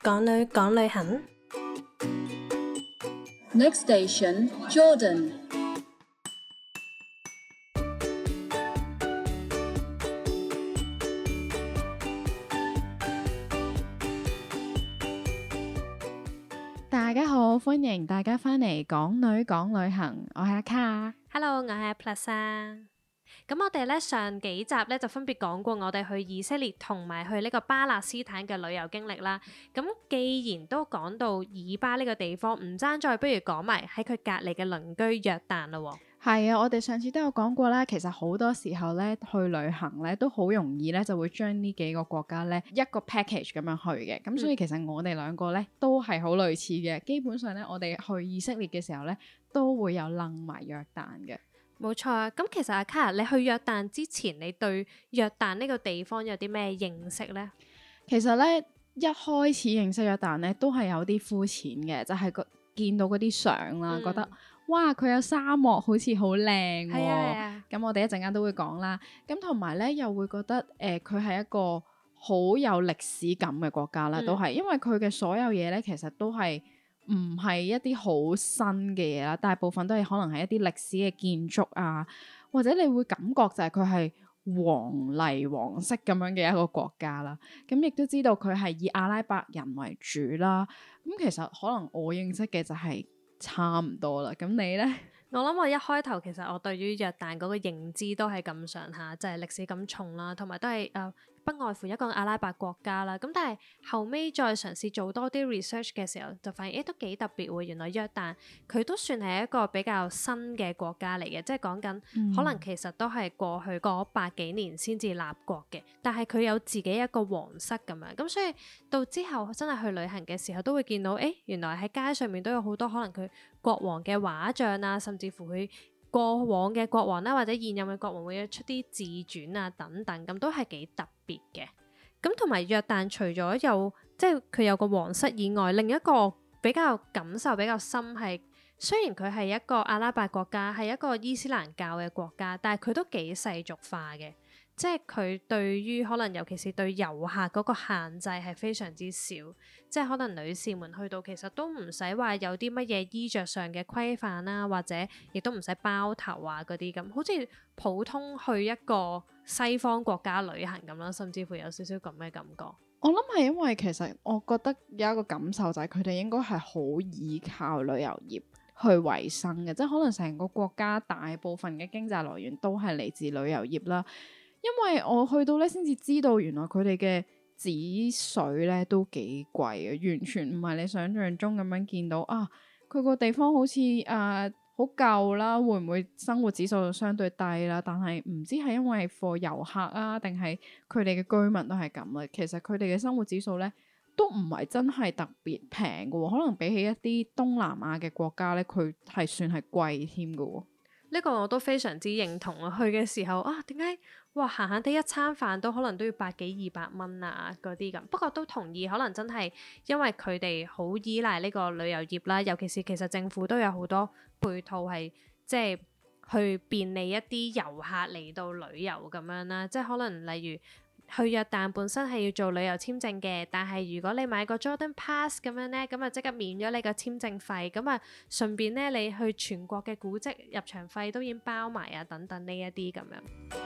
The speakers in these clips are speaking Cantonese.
港女講旅行。 Next station, Jordan. 大家好，歡迎大家返嚟港女講旅行，我係阿卡。 Hello， 我係阿 Plus 啊。咁我哋咧上幾集咧就分別講過我哋去以色列同埋去呢個巴勒斯坦嘅旅遊經歷啦。咁既然都講到以巴呢個地方，唔爭再不如講埋喺佢隔離嘅鄰居約旦咯。 係啊，我哋上次都有講過啦。其實好多時候咧去旅行咧都好容易咧就會將呢幾個國家咧一個 package 咁樣去嘅。咁所以其實我哋兩個咧都係好類似嘅。基本上咧我哋去以色列嘅時候咧都會有楞埋約旦嘅。 冇錯啊。咁其實阿卡，你去約旦之前，你對約旦呢個地方有啲咩認識呢？ 其實咧一開始認識約旦咧都係有啲膚淺嘅，就係見到嗰啲相啦，覺得哇佢有沙漠好似好靚喎。 係啊。 咁我哋一陣間都會講啦。咁同埋咧又會覺得佢係一個好有歷史感嘅國家啦，都係因為佢嘅所有嘢咧其實都係唔係一啲好新嘅嘢啦，大部分都係可能係一啲歷史嘅建築啊，或者你會感覺就係佢係皇室咁樣嘅一個國家啦。咁亦都知道佢係以阿拉伯人為主啦。咁其實可能我認識嘅就係差唔多啦。咁你呢？ 我諗我一開頭其實我對於約旦嗰個認知都係咁上下，就係歷史咁重啦，同埋都係不外乎一個阿拉伯國家啦。咁但係後尾再嘗試做多啲 research 嘅時候，就發現都幾特別喎。原來約旦佢都算係一個比較新嘅國家嚟嘅，即係講緊可能其實都係過去嗰百幾年先至立國嘅，但係佢有自己一個皇室咁樣。咁所以到之後真係去旅行嘅時候，都會見到原來喺街上面都有好多可能佢國王嘅畫像啊，甚至乎佢過往嘅國王啦，或者現任嘅國王會出啲自傳啊等等，咁都係幾特別嘅。咁同埋約旦除咗有即係佢有個皇室以外，另一個比較感受比較深係，雖然佢係一個阿拉伯國家，係一個伊斯蘭教嘅國家，但係佢都幾世俗化嘅。即係佢對於可能尤其是對遊客嗰個限制係非常之少，即係可能女士們去到其實都唔使話有啲乜嘢衣着上嘅規範啦，或者亦都唔使包頭啊嗰啲咁，好似普通去一個西方國家旅行咁啦，甚至乎有少少咁嘅感覺。 我諗係因為其實我覺得有一個感受就係佢哋應該係好依靠旅遊業去維生嘅，即係可能成個國家大部分嘅經濟來源都係嚟自旅遊業啦。因為我去到咧先至知道原來佢哋嘅紙水咧都幾貴嘅，完全唔係你想象中咁樣見到啊。佢個地方好似好舊啦，會唔會生活指數相對低啦？但係唔知係因為貨遊客啊，定係佢哋嘅居民都係咁啦。其實佢哋嘅生活指數咧都唔係真係特別平嘅，可能比起一啲東南亞嘅國家咧，佢係算係貴添嘅。 呢個我都非常之認同啊！去嘅時候點解哇閒閒哋一餐飯都可能都要百幾200蚊啊嗰啲咁。不過都同意，可能真係因為佢哋好依賴呢個旅遊業啦，尤其是其實政府都有好多配套係即係去便利一啲遊客嚟到旅遊咁樣啦。即係可能例如去約旦本身係要做旅遊簽證嘅，但係如果你買個 Jordan Pass 咁樣呢，咁啊即刻免咗你個簽證費，咁啊順便呢，你去全國嘅古蹟入場費都已經包埋啊等等呢一啲咁樣。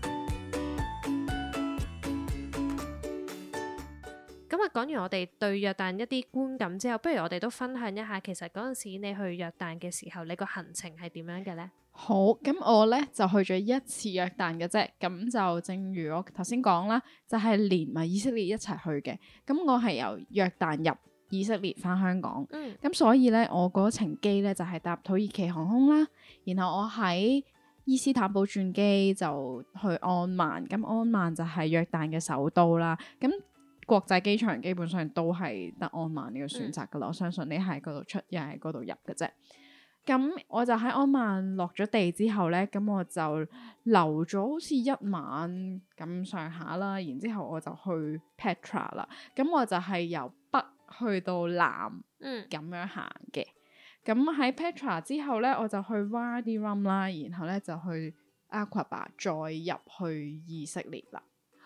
咁啊講完我哋對約旦一啲觀感之後，不如我哋都分享一下，其實嗰陣時你去約旦嘅時候，你個行程係點樣嘅呢？ 好，咁我咧就去咗一次約旦嘅啫，咁就正如我頭先講啦，就係連埋以色列一齊去嘅。咁我係由約旦入以色列返香港，咁所以咧我嗰程機咧就係搭土耳其航空啦，然後我喺伊斯坦堡轉機就去安曼，咁安曼就係約旦嘅首都啦。咁國際機場基本上都係得安曼呢個選擇噶啦，我相信你喺嗰度出，又喺嗰度入嘅啫。咁我就喺安曼落咗地之後咧，咁我就留咗好似1晚咁上下啦，然之後我就去 Petra 啦。咁我就係由北去到南咁樣行嘅。咁喺 Petra 之後咧，我就去 Wadi Rum 啦，然後咧就去 Aqaba 再入去以色列啦。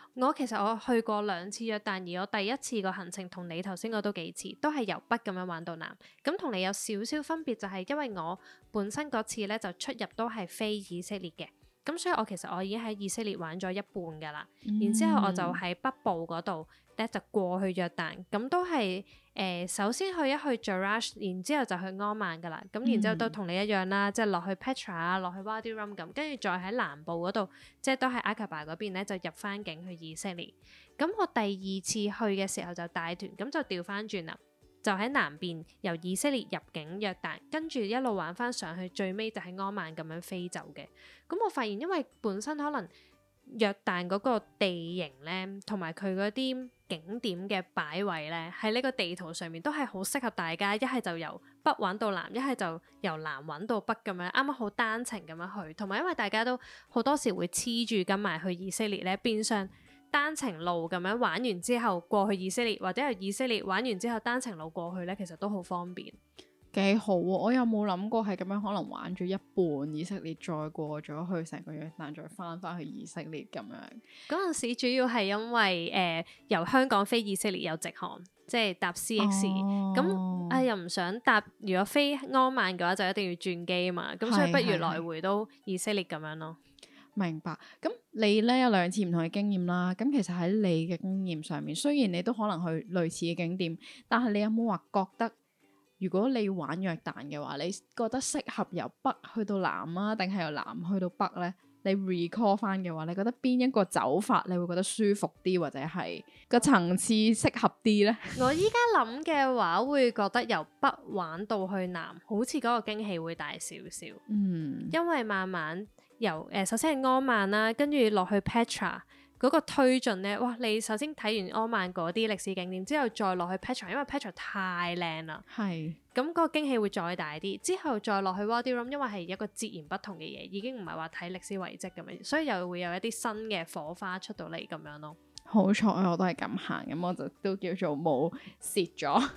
我其實我去過2次約旦，而我第一次個行程同你頭先個都幾似，都係由北咁樣玩到南。咁同你有少少分別就係因為我本身嗰次咧就出入都係飛以色列嘅，咁所以我已經喺以色列玩咗一半㗎啦。然之後我就喺北部嗰度咧就過去約旦，咁都係首先去一去 Jerash， 然之後就去安曼㗎啦。咁然之後都同你一樣啦，即係落去 Petra 啊，落去 Wadi Rum 咁，跟住再喺南部嗰度，即係都係 Aqaba 嗰邊咧，就入翻境去以色列。咁我第2次去嘅時候就帶團，咁就調翻轉啦，就喺南邊由以色列入境約旦，跟住一路玩翻上去，最尾就喺安曼咁樣飛走嘅。咁我發現因為本身可能約旦嗰個地形咧，同埋佢嗰啲景點嘅擺位咧，喺呢個地圖上面都係好適合大家，一係就由北玩到南，一係就由南玩到北咁樣，啱啱好單程咁樣去。同埋因為大家都好多時會黐住跟埋去以色列咧，變相單程路咁樣玩完之後過去以色列，或者由以色列玩完之後單程路過去咧，其實都好方便。 幾好喎！我有冇諗過係咁樣，可能玩咗一半以色列，再過咗去成個約旦，再翻去以色列咁樣。 嗰陣時主要係因為由香港飛以色列有直航，即係搭 CX，咁又唔想搭。如果飛安曼嘅話，就一定要轉機嘛。咁所以不如來回都以色列咁樣咯。 明白。咁你咧有2次唔同嘅經驗啦。咁其實喺你嘅經驗上面，雖然你都可能去類似嘅景點，但係你有冇話覺得？如果你玩約旦嘅話，你覺得適合由北去到南啊，定係由南去到北呢？你 recall 翻嘅話，你覺得邊一個走法你會覺得舒服啲，或者係個層次適合啲呢？ 我依家諗嘅話，會覺得由北玩到去南，好似嗰個驚喜會大少少。因為慢慢由首先係安曼啦，跟住落去 Petra。嗰個推進咧，哇！你首先睇完安曼嗰啲歷史景點之後，再落去 Petra， 因為 Petra 太靚啦。係。咁嗰個驚喜會再大啲。之後再落去 Wadi Rum，因為係一個截然不同嘅嘢，已經唔係話睇歷史遺跡咁樣，所以又會有一啲新嘅火花出到嚟咁樣咯。 好彩我都係咁行，咁我就都叫做冇蝕咗。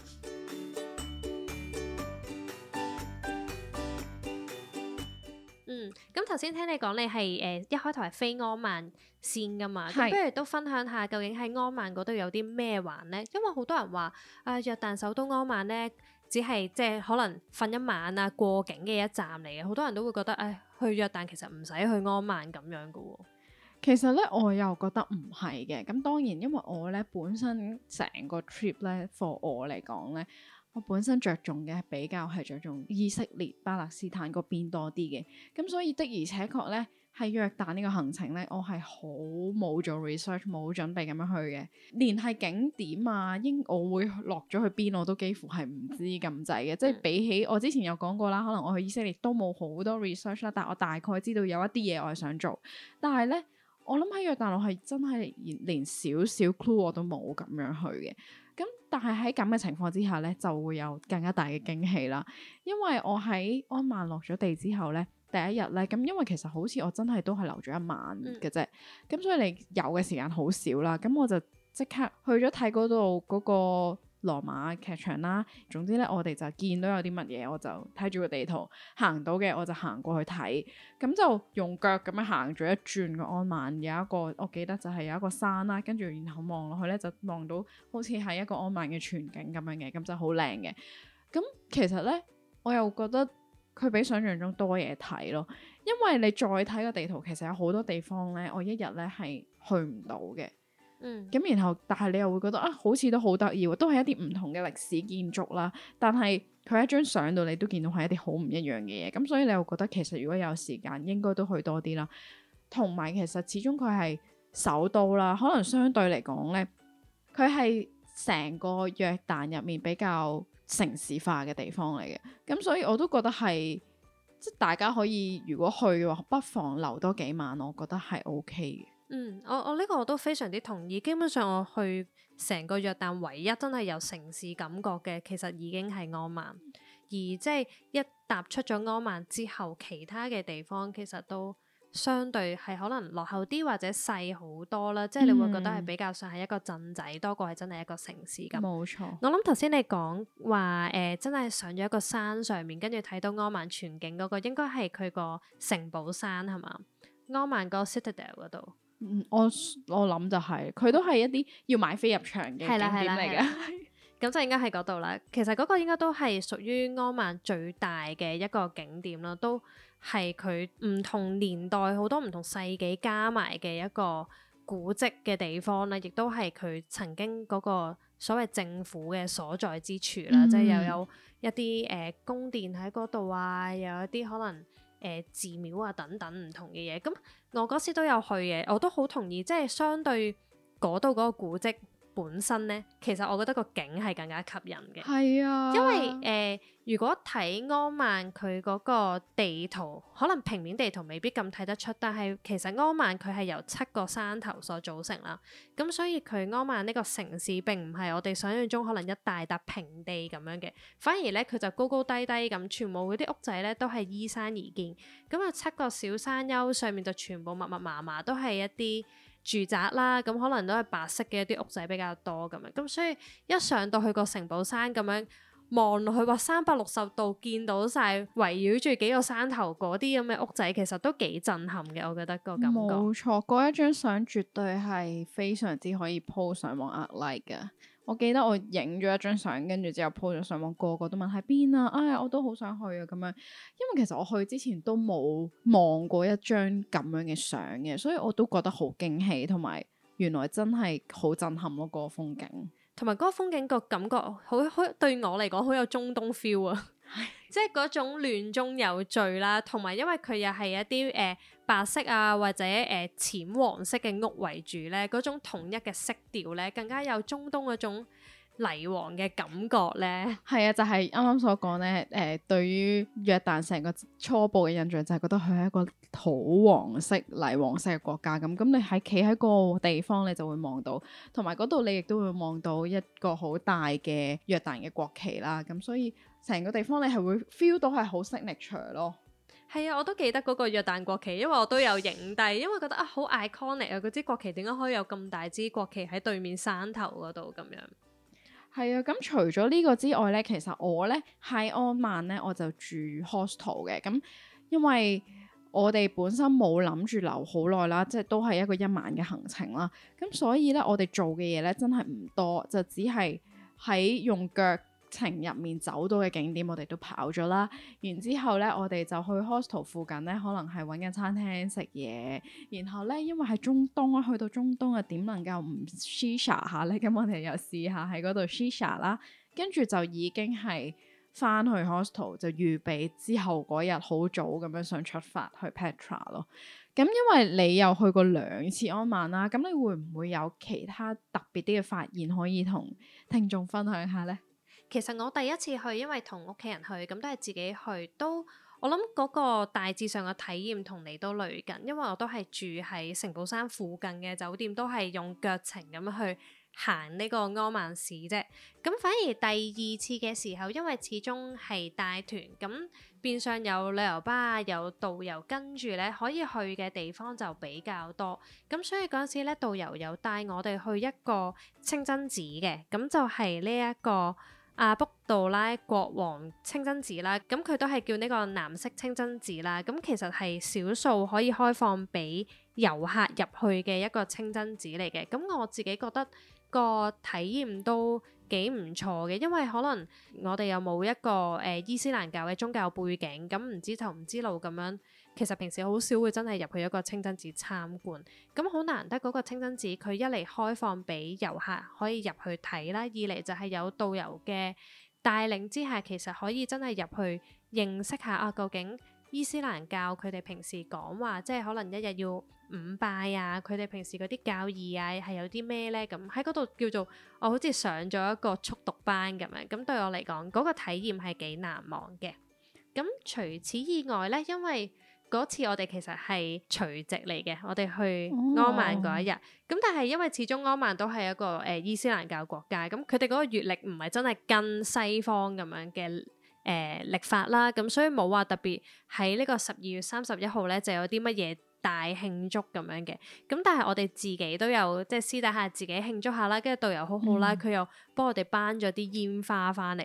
咁頭先聽你講，你係一開頭係飛安曼先噶嘛？咁不如都分享下究竟喺安曼嗰度有啲咩玩呢？因為好多人話約旦首都安曼呢，只係即係可能瞓一晚啊，過境嘅一站嚟嘅。好多人都會覺得去約旦其實唔使去安曼咁樣噶喎。 其實咧，我又覺得唔係嘅。咁當然，因為我咧本身成個 trip 咧 for 我嚟講咧。我本身着重嘅比較係着重以色列、巴勒斯坦嗰邊多啲嘅，咁所以的而且確咧，喺約旦呢個行程咧，我係好冇做 research、冇準備咁樣去嘅，連係景點啊，我會落咗去邊我都幾乎係唔知咁滯嘅，即係比起我之前有講過啦，可能我去以色列都冇好多 research 啦，但係我大概知道有一啲嘢我係想做，但係咧，我諗喺約旦我係真係連少少 clue 我都冇咁樣去嘅。咁但係喺咁嘅情況之下咧，就會有更加大嘅驚喜啦。因為我喺安曼落咗地之後咧，第一日咧，咁因為其實好似我真係都係留咗一晚嘅啫，咁所以你有嘅時間好少啦。咁我就即刻去咗睇嗰度嗰個羅馬劇場啦。總之咧，我哋就見到有啲乜嘢，我就睇住個地圖行到嘅，我就行過去睇。咁就用腳咁樣行咗一轉個安曼，有一個我記得就係有一個山啦，跟住然後望落去咧就望到好似係一個安曼嘅全景咁樣嘅，咁就好靚嘅。咁其實咧，我又覺得佢比想象中多嘢睇咯，因為你再睇個地圖，其實有好多地方咧，我一日咧係去唔到嘅。咁然後，但係你又會覺得好似都好得意喎，都係一啲唔同嘅歷史建築啦。但係佢喺張相度，你都見到係一啲好唔一樣嘅嘢。咁所以你又覺得其實如果有時間，應該都去多啲啦。同埋其實始終佢係首都啦，可能相對嚟講咧，佢係成個約旦入面比較城市化嘅地方嚟嘅。咁所以我都覺得係即係大家可以如果去嘅話，不妨留多幾晚，我覺得係 OK 嘅。 我呢個我都非常之同意。基本上我去成個約旦唯一真係有城市感覺嘅，其實已經係安曼。而即係一踏出咗安曼之後，其他嘅地方其實都相對係可能落後啲或者細好多啦。即係你會覺得係比較上係一個鎮仔多過係真係一個城市咁。冇錯。我諗頭先你講話真係上咗一個山上面，跟住睇到安曼全景嗰個，應該係佢個城堡山係嘛？安曼個 Citadel 嗰度。 我諗就係、佢都係一啲要買飛入場嘅景點嚟嘅。 咁就應該喺嗰度啦。其實嗰個應該都係屬於安曼最大嘅一個景點啦，都係佢唔同年代好多唔同世紀加埋嘅一個古蹟嘅地方啦，亦都係佢曾經嗰個所謂政府嘅所在之處啦，即係又有一啲宮殿喺嗰度啊，又有一啲可能寺廟啊等等唔同嘅嘢。咁我嗰時都有去嘅，我都好同意，即係相對嗰度嗰個古蹟本身呢，其實我覺得個景係更加吸引嘅。 係啊， 因為如果睇安曼佢嗰個地圖，可能平面地圖未必咁睇得出，但係其實安曼佢係由7個山頭所組成啦。咁所以佢安曼呢個城市並唔係我哋想象中可能一大笪平地咁樣嘅，反而呢，佢就高高低低咁，全部嗰啲屋仔呢都係依山而建。咁啊7個小山丘上面就全部密密麻麻都係一啲住宅啦，咁可能都係白色嘅一啲屋仔比較多咁樣，咁所以一上到去個城堡山咁樣望落去，話360度見到晒圍繞住幾個山頭嗰啲咁嘅屋仔，其實都幾震撼嘅，我覺得個感覺。 冇錯，嗰一張相絕對係非常之可以 po 上網壓 like 㗎。我記得我影咗一張相，跟住之後 po 咗上網，個個都問喺邊啊！哎呀，我都好想去啊咁樣。因為其實我去之前都冇望過一張咁樣嘅相嘅，所以我都覺得好驚喜，同埋原來真係好震撼咯，嗰個風景。 同埋嗰個風景個感覺好對我嚟講好有中東 feel 啊！即係嗰種亂中有序啦，同埋因為佢又係一啲白色啊或者淺黃色嘅屋為主咧，嗰種統一嘅色調咧，更加有中東嗰種泥黃嘅感覺咧。係啊，就係啱啱所講咧，對於約旦成個初步嘅印象就係覺得佢係一個土黃色泥黃色嘅國家咁。咁你喺企喺個地方，你就會望到，同埋嗰度你亦都會望到一個好大嘅約旦嘅國旗啦。咁所以成個地方你係會 feel 到係好 signature 咯。 係啊，我都記得嗰個約旦國旗，因為我都有影低，因為覺得啊好 iconic 啊，嗰支國旗點解可以有咁大支國旗喺對面山頭嗰度咁樣？ 係啊，咁除咗呢個之外咧，其實我咧喺安曼咧我就住 hostel 嘅，咁因為我哋本身冇諗住留好耐啦，即係都係一個1晚嘅行程啦，咁所以咧我哋做嘅嘢咧真係唔多，就只係喺用腳程入面走到嘅景點我哋都跑咗啦，然之後咧我哋就去 hostel 附近咧，可能係揾間餐廳食嘢，然後咧因為係中東啊，去到中東啊點能夠唔 shisha 下咧？咁我哋又試下喺嗰度 shisha 啦，跟住就已經係翻去 hostel 就預備之後嗰日好早咁樣想出發去 Petra 咯。咁因為你又去過2次安曼啦，咁你會唔會有其他特別啲嘅發現可以同聽眾分享下呢？ 其實我第一次去，因為同屋企人去，咁都係自己去，都我諗嗰個大致上嘅體驗同你都類近，因為我都係住喺城堡山附近嘅酒店，都係用腳程咁樣去行呢個安曼市啫。咁反而第2次嘅時候，因為始終係帶團，咁變相有旅遊巴有導遊跟住咧，可以去嘅地方就比較多。咁所以嗰陣時咧，導遊有帶我哋去一個清真寺嘅，咁就係呢一個阿卜杜拉國王清真寺啦，咁佢都係叫呢個藍色清真寺啦。咁其實係少數可以開放俾遊客入去嘅一個清真寺嚟嘅。咁我自己覺得個體驗都幾唔錯嘅，因為可能我哋又冇一個伊斯蘭教嘅宗教背景，咁唔知頭唔知路咁樣。其實平時好少會真係入去一個清真寺參觀，咁好難得嗰個清真寺佢一嚟開放俾遊客可以入去睇啦，二嚟就係有導遊嘅帶領之下，其實可以真係入去認識下啊，究竟伊斯蘭教佢哋平時講話，即係可能一日要5拜啊，佢哋平時嗰啲教義啊係有啲咩呢？咁喺嗰度叫做我好似上咗一個速讀班咁樣，咁對我嚟講嗰個體驗係幾難忘嘅。咁除此以外呢，因為嗰次我哋其實係除夕嚟嘅，我哋去安曼嗰一日，咁但係因為始終安曼都係一個伊斯蘭教國家，咁佢哋嗰個月曆唔係真係跟西方咁樣嘅曆法啦，咁所以冇話特別喺呢個12月31號咧就有啲乜嘢大慶祝咁樣嘅，咁但係我哋自己都有即係私底下自己慶祝下啦，跟住導遊好好啦，佢又幫我哋頒咗啲煙花翻嚟喎。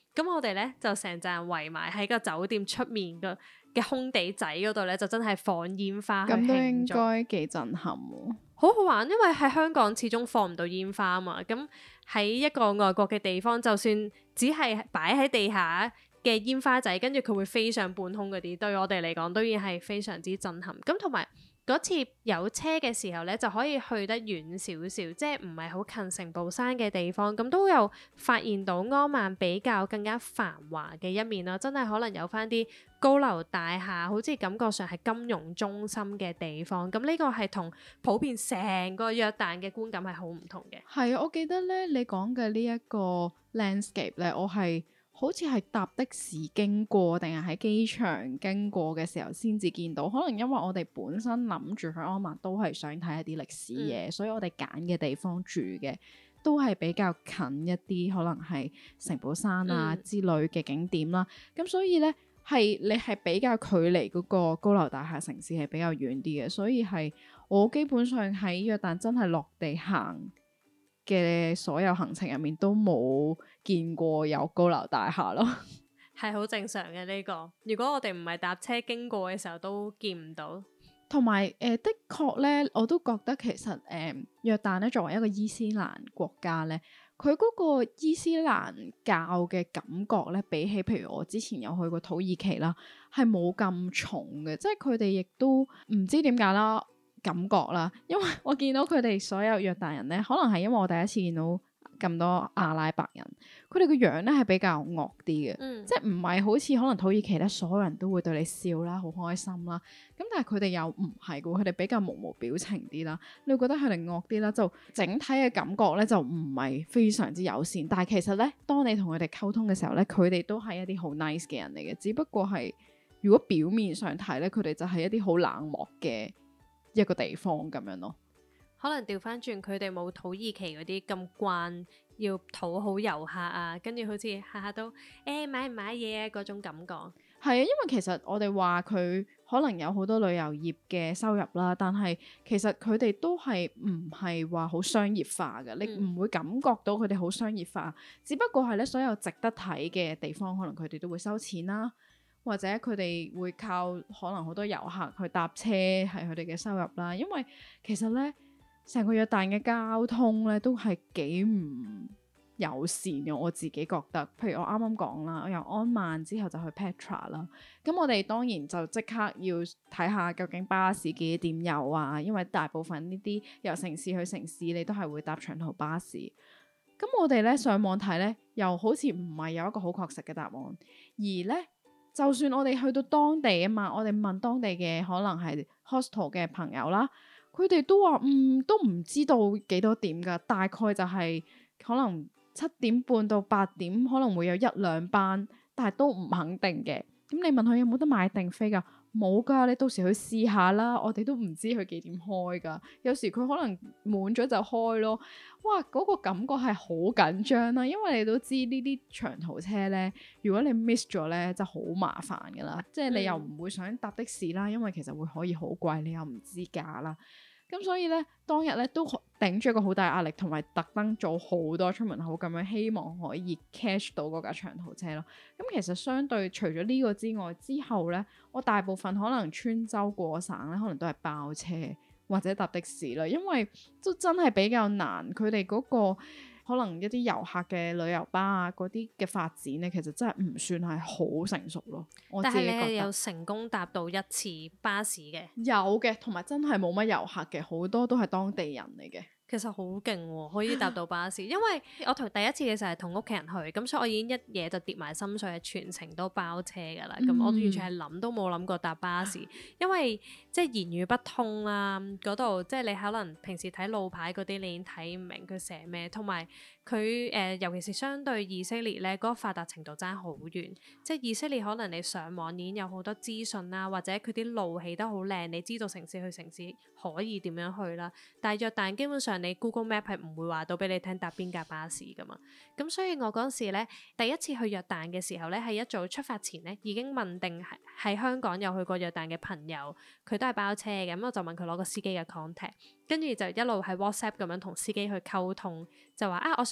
咁我哋咧就成扎人圍埋喺個酒店出面嘅空地仔嗰度咧，就真係放煙花去咁都應慶祝， 該幾震撼喎。 好好玩。因為喺香港始終放唔到煙花啊嘛，咁喺一個外國嘅地方，就算只係擺喺地下嘅煙花仔，跟住佢會飛上半空嗰啲，對我哋嚟講都已經係非常之震撼。咁同埋嗰次有車嘅時候呢，就可以去得遠少少，即係唔係好近城堡山嘅地方，咁都有發現到柯曼比較更加繁華嘅一面啦。真係可能有翻啲高樓大廈，好似感覺上係金融中心嘅地方。咁呢個係同普遍成個約旦嘅觀感係好唔同嘅。 係啊，我記得咧，你講嘅呢一個 landscape 咧，我係好似係搭的士經過，定係喺機場經過嘅時候先至見到。可能因為我哋本身諗住去柯曼都係想睇一啲歷史嘢，所以我哋揀嘅地方住嘅都係比較近一啲，可能係城堡山啊之類嘅景點啦。咁所以咧，你係比較距離嗰個高樓大廈城市係比較遠啲嘅，所以係我基本上喺約旦真係落地行嘅所有行程入面都冇見過有高樓大廈咯。 係好正常嘅呢個。如果我哋唔係搭車經過嘅時候，都見唔到。 同埋的確咧，我都覺得其實約旦咧作為一個伊斯蘭國家咧，佢嗰個伊斯蘭教嘅感覺咧，比起譬如我之前有去過土耳其啦，係冇咁重嘅。即係佢哋亦都唔知點解啦，感覺啦，因為我見到佢哋所有約旦人咧，可能係因為我第一次見到咁多阿拉伯人，佢哋個樣咧係比較惡啲嘅，即係唔係好似可能土耳其咧，所有人都會對你笑啦，好開心啦。咁但係佢哋又唔係嘅，佢哋比較無表情啲啦。你會覺得佢哋惡啲啦，就整體嘅感覺咧就唔係非常之友善。但係其實咧，當你同佢哋溝通嘅時候咧，佢哋都係一啲好 nice 嘅人嚟嘅，只不過係如果表面上睇咧，佢哋就係一啲好冷漠嘅一個地方咁樣咯。 可能調翻轉，佢哋冇土耳其嗰啲咁慣要討好遊客啊，跟住好似下下都買唔買嘢啊嗰種感覺。 係啊，因為其實我哋話佢可能有好多旅遊業嘅收入啦，但係其實佢哋都係唔係話好商業化嘅，你唔會感覺到佢哋好商業化，只不過係咧所有值得睇嘅地方，可能佢哋都會收錢啦，或者佢哋會靠可能好多遊客去搭車係佢哋嘅收入啦。因為其實咧成個約旦嘅交通咧都係幾唔友善嘅，我自己覺得。譬如我啱啱講啦，我由安曼之後就去 Petra 啦，咁我哋當然就即刻要睇下究竟巴士幾點有啊，因為大部分呢啲由城市去城市你都係會搭長途巴士。咁我哋咧上網睇咧，又好似唔係有一個好確實嘅答案，而咧就算我哋去到當地啊嘛，我哋問當地嘅可能係 hostel 嘅朋友啦，佢哋都話都唔知道幾多點㗎，大概就係可能7點半到8點可能會有1-2班，但係都唔肯定嘅。咁你問佢有冇得買定飛㗎？冇㗎，你到時去試下啦。我哋都唔知佢幾點開㗎，有時佢可能滿咗就開咯。哇，嗰個感覺係好緊張啦，因為你都知呢啲長途車咧，如果你 miss 咗咧就好麻煩㗎啦。即係你又唔會想搭的士啦，因為其實會可以好貴，你又唔知價啦。咁所以咧，當日咧都頂住一個好大壓力，同埋特登做好多出門口咁樣，希望可以 catch 到嗰架長途車咯。咁其實相對除咗呢個之外，之後咧，我大部分可能穿州過省咧，可能都係包車或者搭的士啦，因為都真係比較難。佢哋嗰個可能一啲遊客嘅旅遊巴啊，嗰啲嘅發展咧，其實真係唔算係好成熟咯。我自己覺得。 但係你係有成功搭到一次巴士嘅？ 有嘅，同埋真係冇乜遊客嘅，好多都係當地人嚟嘅。 其實好勁喎，可以搭到巴士。因為我第一次嘅時候係同屋企人去，咁所以我已經一嘢就跌埋心水，係全程都包車㗎啦。咁我完全係諗都冇諗過搭巴士，因為即係言語不通啦，嗰度即係你可能平時睇路牌嗰啲，你已經睇唔明佢寫咩，同埋佢尤其是相對以色列咧，嗰個發達程度爭好遠。即係以色列可能你上網已經有好多資訊啦，或者佢啲路起得好靚，你知道城市去城市可以點樣去啦。但係約旦基本上你 Google Map 係唔會話到俾你聽搭邊架巴士噶嘛。咁所以我嗰時咧第一次去約旦嘅時候咧，係一早出發前咧已經問定喺香港有去過約旦嘅朋友，佢都係包車嘅，咁我就問佢攞個司機嘅 contact，跟住就一路喺 WhatsApp 咁樣同司機去溝通，就話我想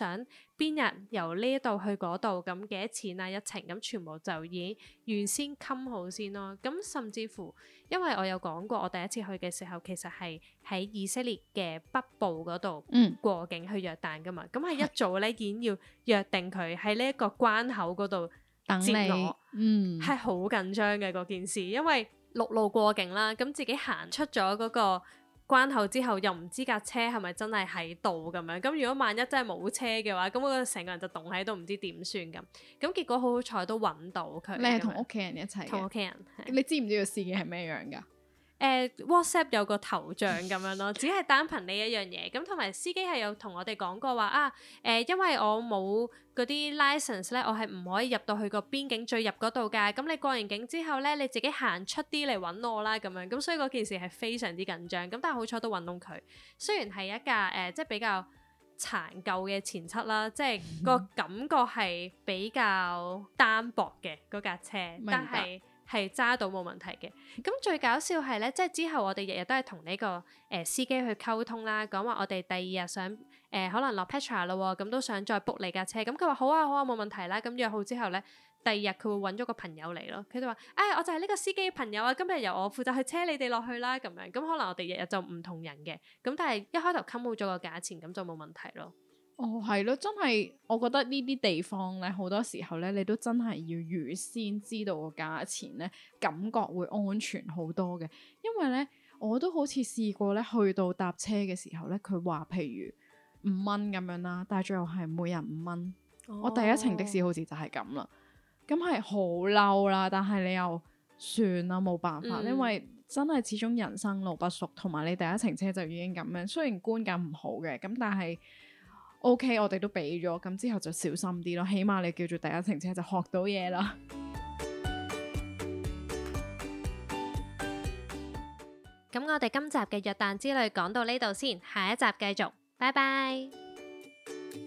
想邊日由呢度去嗰度，咁幾多錢啊一程，咁全部就已經預先冚好先咯。咁甚至乎，因為我有講過，我第一次去嘅時候其實係喺以色列嘅北部嗰度過境去約旦噶嘛，咁係一早咧已經要約定佢喺呢一個關口嗰度等接我，係好緊張嘅嗰件事，因為陸路過境啦，咁自己行出咗嗰個關口之後，又唔知架車係咪真係喺度咁樣。咁如果萬一真係冇車嘅話，咁我成個人就棟喺度，唔知點算咁。咁結果好好彩都揾到佢。 你係同屋企人一齊嘅？ 同屋企人。 你知唔知個司機係咩樣㗎 ？WhatsApp 有個頭像咁樣咯，只係單憑呢一樣嘢。咁同埋司機係有同我哋講過話啊，因為我冇嗰啲 license 咧，我係唔可以入到去個邊境最入嗰度㗎。咁你過完境之後咧，你自己行出啲嚟揾我啦咁樣。咁所以嗰件事係非常之緊張。咁但係好彩都揾到佢。雖然係一架即係比較殘舊嘅前七啦，即係個感覺係比較單薄嘅嗰架車，但係揸到冇問題嘅。咁最搞笑係咧，即係之後我哋日日都係同呢個司機去溝通啦，講話我哋第二日想可能落 Petra 咯，咁都想再 book 你架車。咁佢話好啊好啊，冇問題啦。咁約好之後咧，第二日佢會揾咗個朋友嚟咯。佢就話我就係呢個司機嘅朋友啊，今日由我負責去車你哋落去啦咁樣。咁可能我哋日日就唔同人嘅，咁但係一開頭冚好咗個價錢，咁就冇問題咯。 哦，係咯，真係，我覺得呢啲地方咧，好多時候咧，你都真係要預先知道個價錢咧，感覺會安全好多嘅。因為咧，我都好似試過咧，去到搭車嘅時候咧，佢話譬如5蚊咁樣啦，但係最後係每人5蚊。我第一程的士好似就係咁啦，咁係好嬲啦，但係你又算啦，冇辦法，因為真係始終人生路不熟，同埋你第一程車就已經咁樣，雖然觀感唔好嘅，咁但係。OK，我哋都俾咗，咁之後就小心啲咯。起碼你叫做第一程車就學到嘢啦。 咁我哋今集嘅約旦之旅講到呢度先，下一集繼續，拜拜。